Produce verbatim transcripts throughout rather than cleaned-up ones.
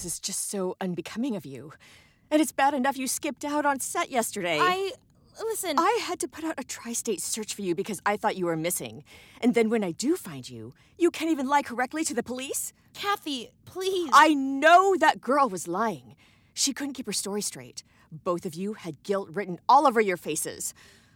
is just so unbecoming of you. And it's bad enough you skipped out on set yesterday. I... Listen... I had to put out a tri-state search for you because I thought you were missing. And then when I do find you, you can't even lie correctly to the police? Kathy, please. I know that girl was lying. She couldn't keep her story straight. Both of you had guilt written all over your faces.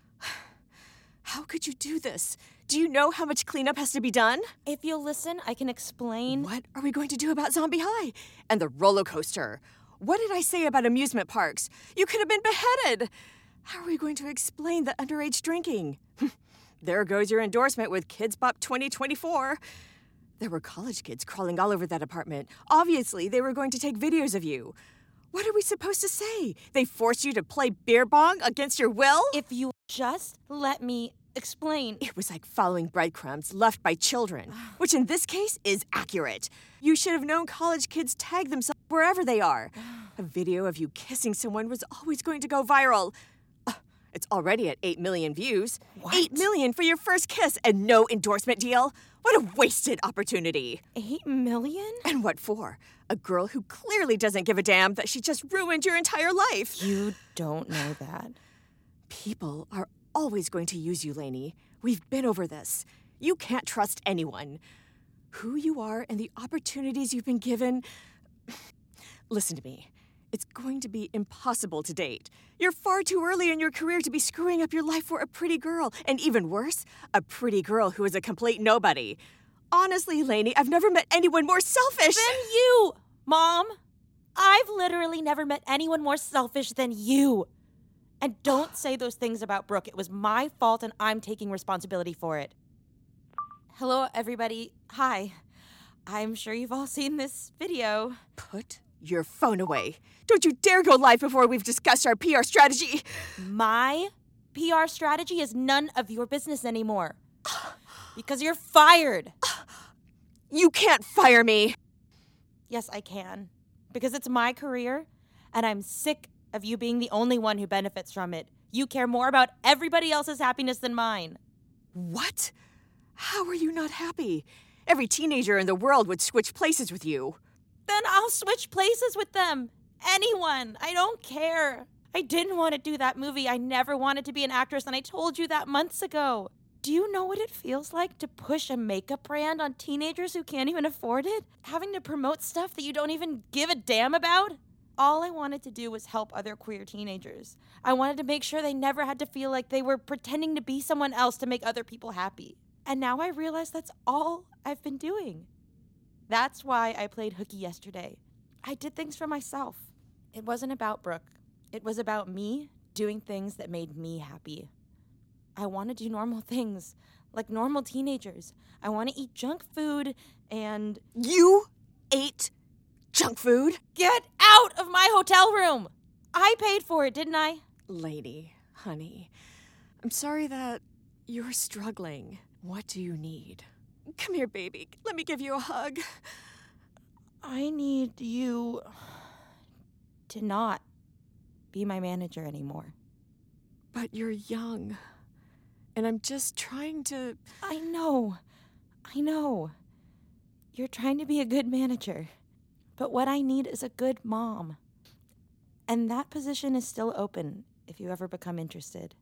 How could you do this? Do you know how much cleanup has to be done? If you'll listen, I can explain. What are we going to do about Zombie High? And the roller coaster? What did I say about amusement parks? You could have been beheaded. How are we going to explain the underage drinking? There goes your endorsement with Kids Bop twenty twenty-four. There were college kids crawling all over that apartment. Obviously, they were going to take videos of you. What are we supposed to say? They forced you to play beer bong against your will? If you just let me explain. It was like following breadcrumbs left by children, which in this case is accurate. You should have known college kids tag themselves wherever they are. A video of you kissing someone was always going to go viral. Uh, it's already at eight million views. What? eight million for your first kiss and no endorsement deal? What a wasted opportunity. Eight million? And what for? A girl who clearly doesn't give a damn that she just ruined your entire life. You don't know that. People are always going to use you, Lainey. We've been over this. You can't trust anyone. Who you are and the opportunities you've been given... Listen to me. It's going to be impossible to date. You're far too early in your career to be screwing up your life for a pretty girl. And even worse, a pretty girl who is a complete nobody. Honestly, Lainey, I've never met anyone more selfish. Than you, Mom. I've literally never met anyone more selfish than you. And don't say those things about Brooke. It was my fault and I'm taking responsibility for it. Hello, everybody. Hi. I'm sure you've all seen this video. Put your phone away. Don't you dare go live before we've discussed our P R strategy. My P R strategy is none of your business anymore. Because you're fired. You can't fire me. Yes, I can. Because it's my career, and I'm sick of you being the only one who benefits from it. You care more about everybody else's happiness than mine. What? How are you not happy? Every teenager in the world would switch places with you. Then I'll switch places with them. Anyone. I don't care. I didn't want to do that movie. I never wanted to be an actress, and I told you that months ago. Do you know what it feels like to push a makeup brand on teenagers who can't even afford it? Having to promote stuff that you don't even give a damn about? All I wanted to do was help other queer teenagers. I wanted to make sure they never had to feel like they were pretending to be someone else to make other people happy. And now I realize that's all I've been doing. That's why I played hooky yesterday. I did things for myself. It wasn't about Brooke. It was about me doing things that made me happy. I want to do normal things, like normal teenagers. I want to eat junk food and... You ate junk food? Get out of my hotel room! I paid for it, didn't I? Lady, honey, I'm sorry that you're struggling. What do you need? Come here, baby. Let me give you a hug. I need you to not be my manager anymore. But you're young. And I'm just trying to... I know. I know. You're trying to be a good manager. But what I need is a good mom. And that position is still open if you ever become interested.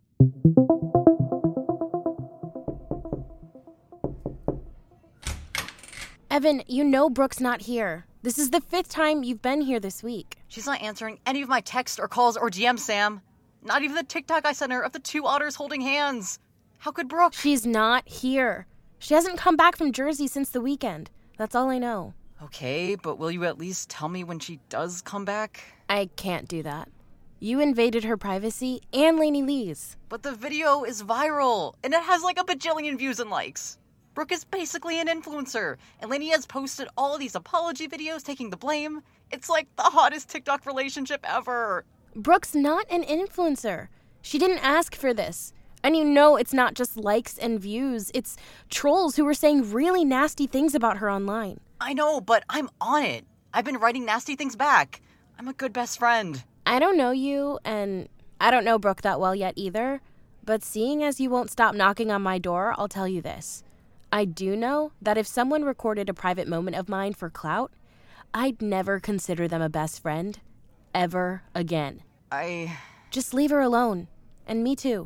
Evan, you know Brooke's not here. This is the fifth time you've been here this week. She's not answering any of my texts or calls or D Ms, Sam. Not even the TikTok I sent her of the two otters holding hands. How could Brooke? She's not here. She hasn't come back from Jersey since the weekend. That's all I know. Okay, but will you at least tell me when she does come back? I can't do that. You invaded her privacy and Lainey Lee's. But the video is viral, and it has like a bajillion views and likes. Brooke is basically an influencer, and Lainey has posted all of these apology videos taking the blame. It's like the hottest TikTok relationship ever. Brooke's not an influencer. She didn't ask for this. And you know it's not just likes and views. It's trolls who were saying really nasty things about her online. I know, but I'm on it. I've been writing nasty things back. I'm a good best friend. I don't know you, and I don't know Brooke that well yet either. But seeing as you won't stop knocking on my door, I'll tell you this. I do know that if someone recorded a private moment of mine for clout, I'd never consider them a best friend. Ever again. I... Just leave her alone. And me too.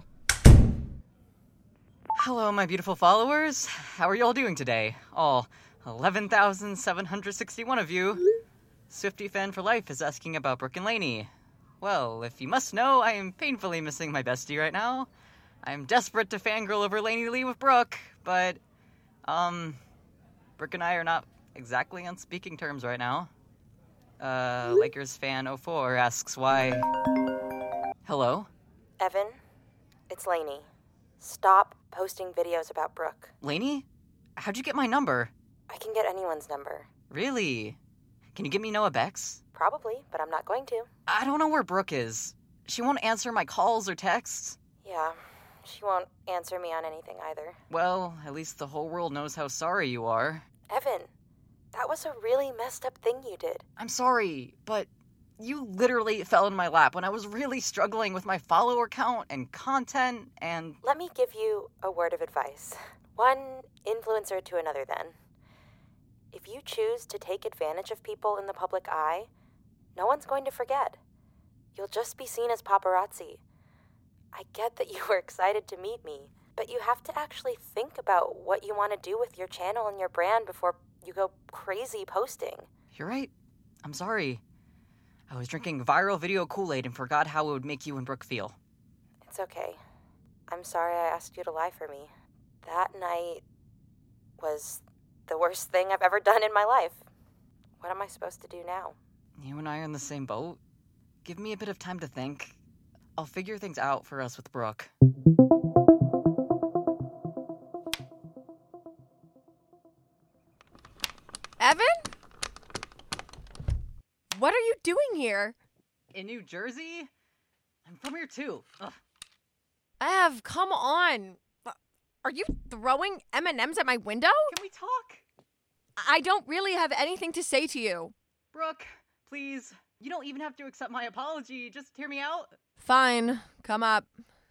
Hello, my beautiful followers. How are you all doing today? All eleven thousand seven hundred sixty-one of you. Swiftie Fan for Life is asking about Brooke and Lainey. Well, if you must know, I am painfully missing my bestie right now. I am desperate to fangirl over Lainey Lee with Brooke, but, um, Brooke and I are not exactly on speaking terms right now. Uh, Lakers fan oh four asks why... Hello? Evan, it's Lainey. Stop posting videos about Brooke. Lainey? How'd you get my number? I can get anyone's number. Really? Can you give me Noah Beck's? Probably, but I'm not going to. I don't know where Brooke is. She won't answer my calls or texts. Yeah, she won't answer me on anything either. Well, at least the whole world knows how sorry you are. Evan, that was a really messed up thing you did. I'm sorry, but you literally fell in my lap when I was really struggling with my follower count and content and... Let me give you a word of advice. One influencer to another, then. If you choose to take advantage of people in the public eye, no one's going to forget. You'll just be seen as paparazzi. I get that you were excited to meet me, but you have to actually think about what you want to do with your channel and your brand before you go crazy posting. You're right. I'm sorry. I was drinking viral video Kool-Aid and forgot how it would make you and Brooke feel. It's okay. I'm sorry I asked you to lie for me. That night was the worst thing I've ever done in my life. What am I supposed to do now? You and I are in the same boat. Give me a bit of time to think. I'll figure things out for us with Brooke. Evan? What are you doing here? In New Jersey? I'm from here too. Ugh. Ev, come on. Are you throwing M and M's at my window? Can we talk? I don't really have anything to say to you. Brooke, please. You don't even have to accept my apology. Just hear me out. Fine. Come up.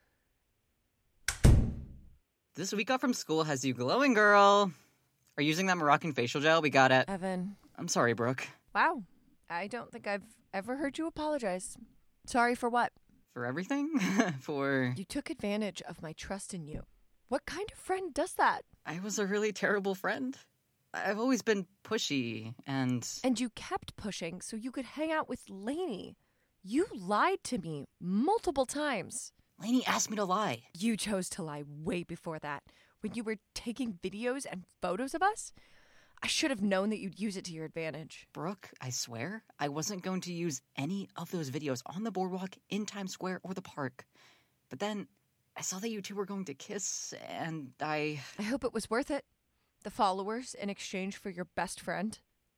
This week off from school has you glowing, girl. Are you using that Moroccan facial gel we got at... Evan. I'm sorry, Brooke. Wow. I don't think I've ever heard you apologize. Sorry for what? For everything? For... You took advantage of my trust in you. What kind of friend does that? I was a really terrible friend. I've always been pushy, and... And you kept pushing so you could hang out with Lainey. You lied to me multiple times. Lainey asked me to lie. You chose to lie way before that. When you were taking videos and photos of us, I should have known that you'd use it to your advantage. Brooke, I swear, I wasn't going to use any of those videos on the boardwalk, in Times Square, or the park. But then I saw that you two were going to kiss, and I... I hope it was worth it. The followers in exchange for your best friend.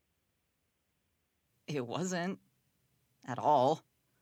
It wasn't. At all.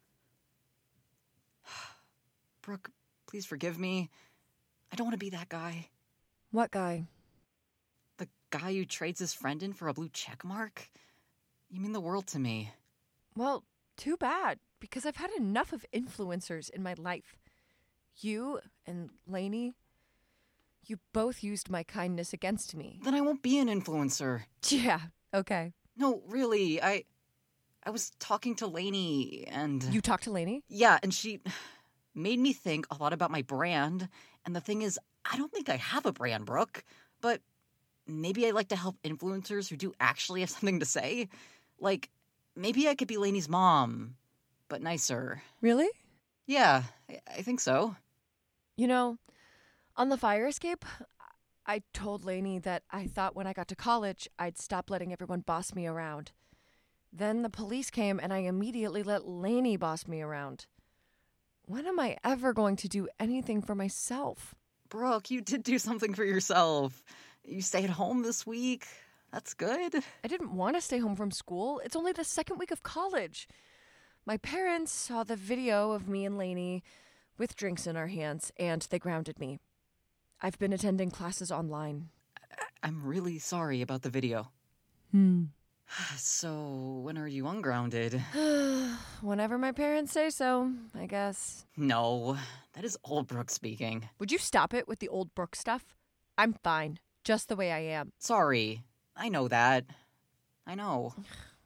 Brooke, please forgive me. I don't want to be that guy. What guy? The guy who trades his friend in for a blue check mark? You mean the world to me. Well, too bad, because I've had enough of influencers in my life. You and Lainey, you both used my kindness against me. Then I won't be an influencer. Yeah, okay. No, really, I... I was talking to Lainey, and... You talked to Lainey? Yeah, and she made me think a lot about my brand. And the thing is, I don't think I have a brand, Brooke. But maybe I like to help influencers who do actually have something to say. Like, maybe I could be Lainey's mom, but nicer. Really? Yeah, I, I think so. You know, on the fire escape, I told Lainey that I thought when I got to college, I'd stop letting everyone boss me around. Then the police came and I immediately let Lainey boss me around. When am I ever going to do anything for myself? Brooke, you did do something for yourself. You stayed home this week. That's good. I didn't want to stay home from school. It's only the second week of college. My parents saw the video of me and Lainey with drinks in our hands, and they grounded me. I've been attending classes online. I- I'm really sorry about the video. Hmm. So, when are you ungrounded? Whenever my parents say so, I guess. No, that is old Brooke speaking. Would you stop it with the old Brooke stuff? I'm fine, just the way I am. Sorry, I know that. I know.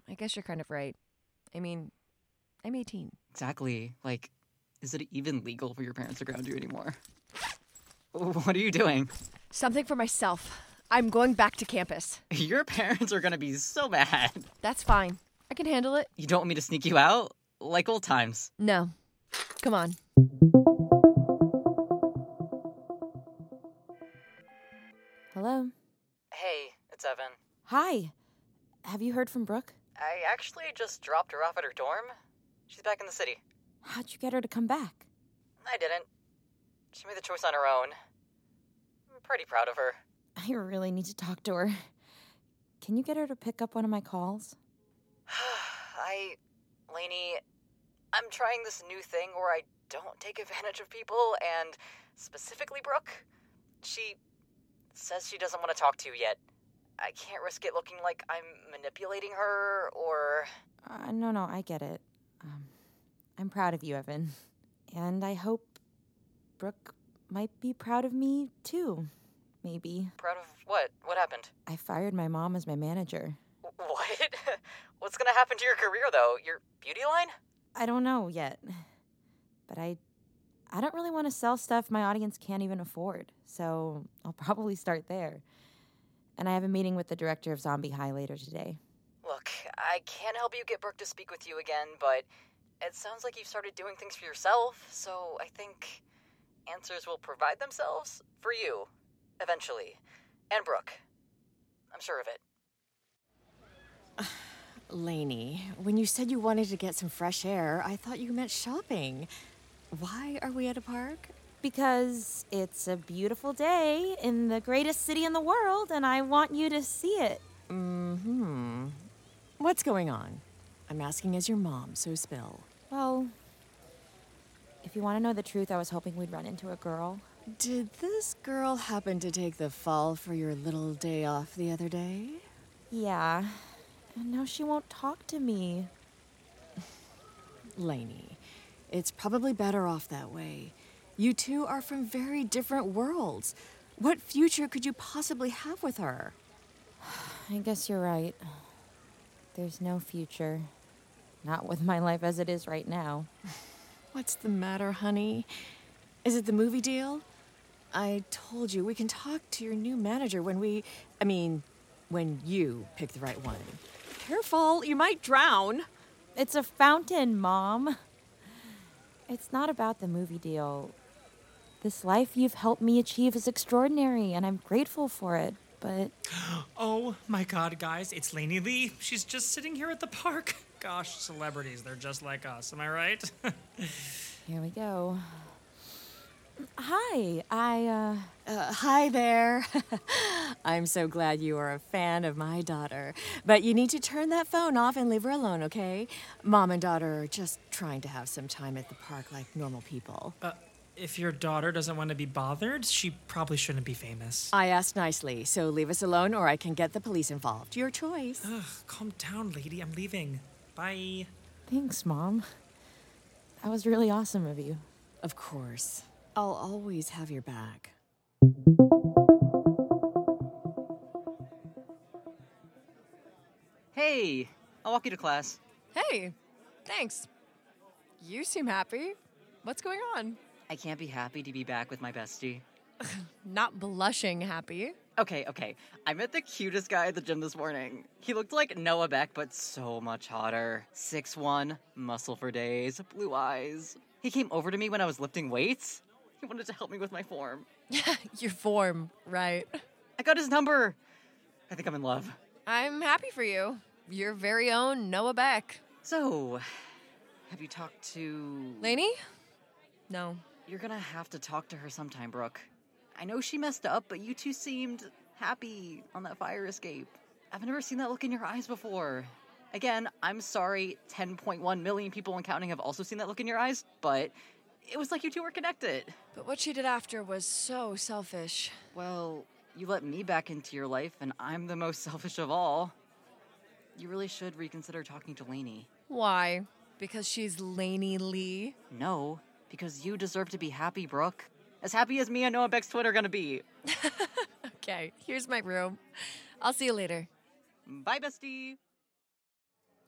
I guess you're kind of right. I mean, I'm eighteen. Exactly. Like, is it even legal for your parents to ground you anymore? What are you doing? Something for myself. I'm going back to campus. Your parents are gonna be so mad. That's fine. I can handle it. You don't want me to sneak you out? Like old times. No. Come on. Hello? Hey, it's Evan. Hi. Have you heard from Brooke? I actually just dropped her off at her dorm. She's back in the city. How'd you get her to come back? I didn't. She made the choice on her own. I'm pretty proud of her. I really need to talk to her. Can you get her to pick up one of my calls? I... Lainey, I'm trying this new thing where I don't take advantage of people, and specifically Brooke. She says she doesn't want to talk to you yet. I can't risk it looking like I'm manipulating her, or... Uh, no, no, I get it. Um, I'm proud of you, Evan. And I hope Brooke might be proud of me, too. Maybe. Proud of what? What happened? I fired my mom as my manager. What? What's gonna happen to your career, though? Your beauty line? I don't know yet. But I I don't really want to sell stuff my audience can't even afford. So I'll probably start there. And I have a meeting with the director of Zombie High later today. Look, I can't help you get Brooke to speak with you again, but it sounds like you've started doing things for yourself, so I think answers will provide themselves for you, eventually. And Brooke. I'm sure of it. Lainey, when you said you wanted to get some fresh air, I thought you meant shopping. Why are we at a park? Because it's a beautiful day in the greatest city in the world, and I want you to see it. Mm-hmm. What's going on? I'm asking as your mom, so spill. Well, if you want to know the truth, I was hoping we'd run into a girl. Did this girl happen to take the fall for your little day off the other day? Yeah, and now she won't talk to me. Lainey, it's probably better off that way. You two are from very different worlds. What future could you possibly have with her? I guess you're right. There's no future. Not with my life as it is right now. What's the matter, honey? Is it the movie deal? I told you we can talk to your new manager when we... I mean, when you pick the right one. Careful, you might drown. It's a fountain, Mom. It's not about the movie deal. This life you've helped me achieve is extraordinary, and I'm grateful for it, but... Oh my god, guys, it's Lainey Lee. She's just sitting here at the park. Gosh, celebrities, they're just like us, am I right? Here we go. Hi, I, uh... Uh, hi there. I'm so glad you are a fan of my daughter. But you need to turn that phone off and leave her alone, okay? Mom and daughter are just trying to have some time at the park like normal people. uh, if your daughter doesn't want to be bothered, she probably shouldn't be famous. I asked nicely, so leave us alone or I can get the police involved. Your choice. Ugh, calm down, lady. I'm leaving. Bye. Thanks, Mom. That was really awesome of you. Of course. I'll always have your back. Hey, I'll walk you to class. Hey, thanks. You seem happy. What's going on? I can't be happy to be back with my bestie. Not blushing happy. Okay, okay. I met the cutest guy at the gym this morning. He looked like Noah Beck, but so much hotter. six one, muscle for days, blue eyes. He came over to me when I was lifting weights. He wanted to help me with my form. Your form, right? I got his number. I think I'm in love. I'm happy for you. Your very own Noah Beck. So, have you talked to... Lainey? No. You're gonna have to talk to her sometime, Brooke. I know she messed up, but you two seemed happy on that fire escape. I've never seen that look in your eyes before. Again, I'm sorry ten point one million people and counting have also seen that look in your eyes, but it was like you two were connected. But what she did after was so selfish. Well, you let me back into your life, and I'm the most selfish of all. You really should reconsider talking to Lainey. Why? Because she's Lainey Lee? No, because you deserve to be happy, Brooke. As happy as me and Noah Beck's twin are gonna be. Okay, here's my room. I'll see you later. Bye, bestie.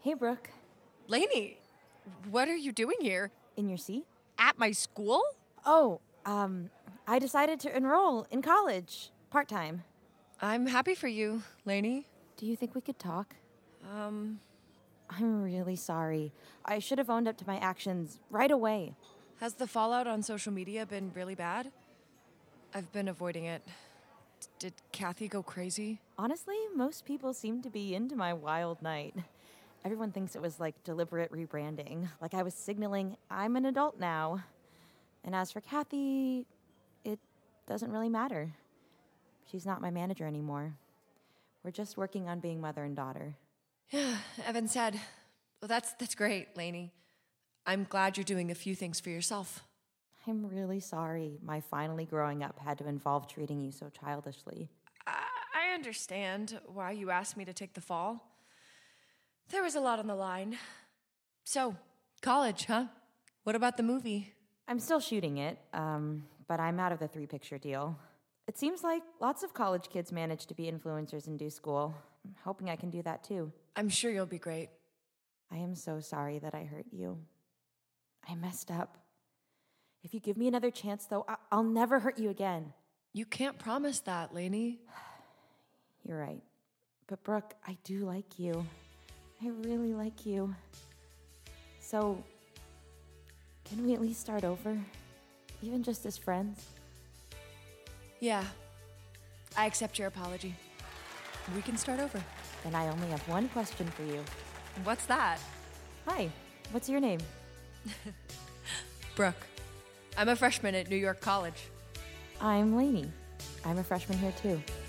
Hey, Brooke. Lainey, what are you doing here? In your seat? At my school? Oh, um, I decided to enroll in college, part-time. I'm happy for you, Lainey. Do you think we could talk? Um, I'm really sorry. I should have owned up to my actions right away. has the fallout on social media been really bad? I've been avoiding it. D- did Kathy go crazy? Honestly, most people seem to be into my wild night. Everyone thinks it was like deliberate rebranding, like I was signaling I'm an adult now. And as for Kathy, it doesn't really matter. She's not my manager anymore. We're just working on being mother and daughter. Yeah, Evan said. Well, that's that's great, Lainey. I'm glad you're doing a few things for yourself. I'm really sorry my finally growing up had to involve treating you so childishly. I, I understand why you asked me to take the fall. There was a lot on the line. So, college, huh? What about the movie? I'm still shooting it, um, but I'm out of the three-picture deal. It seems like lots of college kids manage to be influencers and do school. I'm hoping I can do that too. I'm sure you'll be great. I am so sorry that I hurt you. I messed up. If you give me another chance, though, I- I'll never hurt you again. You can't promise that, Lainey. You're right. But Brooke, I do like you. I really like you. So, can we at least start over? Even just as friends? Yeah. I accept your apology. We can start over. Then I only have one question for you. What's that? Hi, what's your name? Brooke. I'm a freshman at New York College. I'm Lainey. I'm a freshman here too.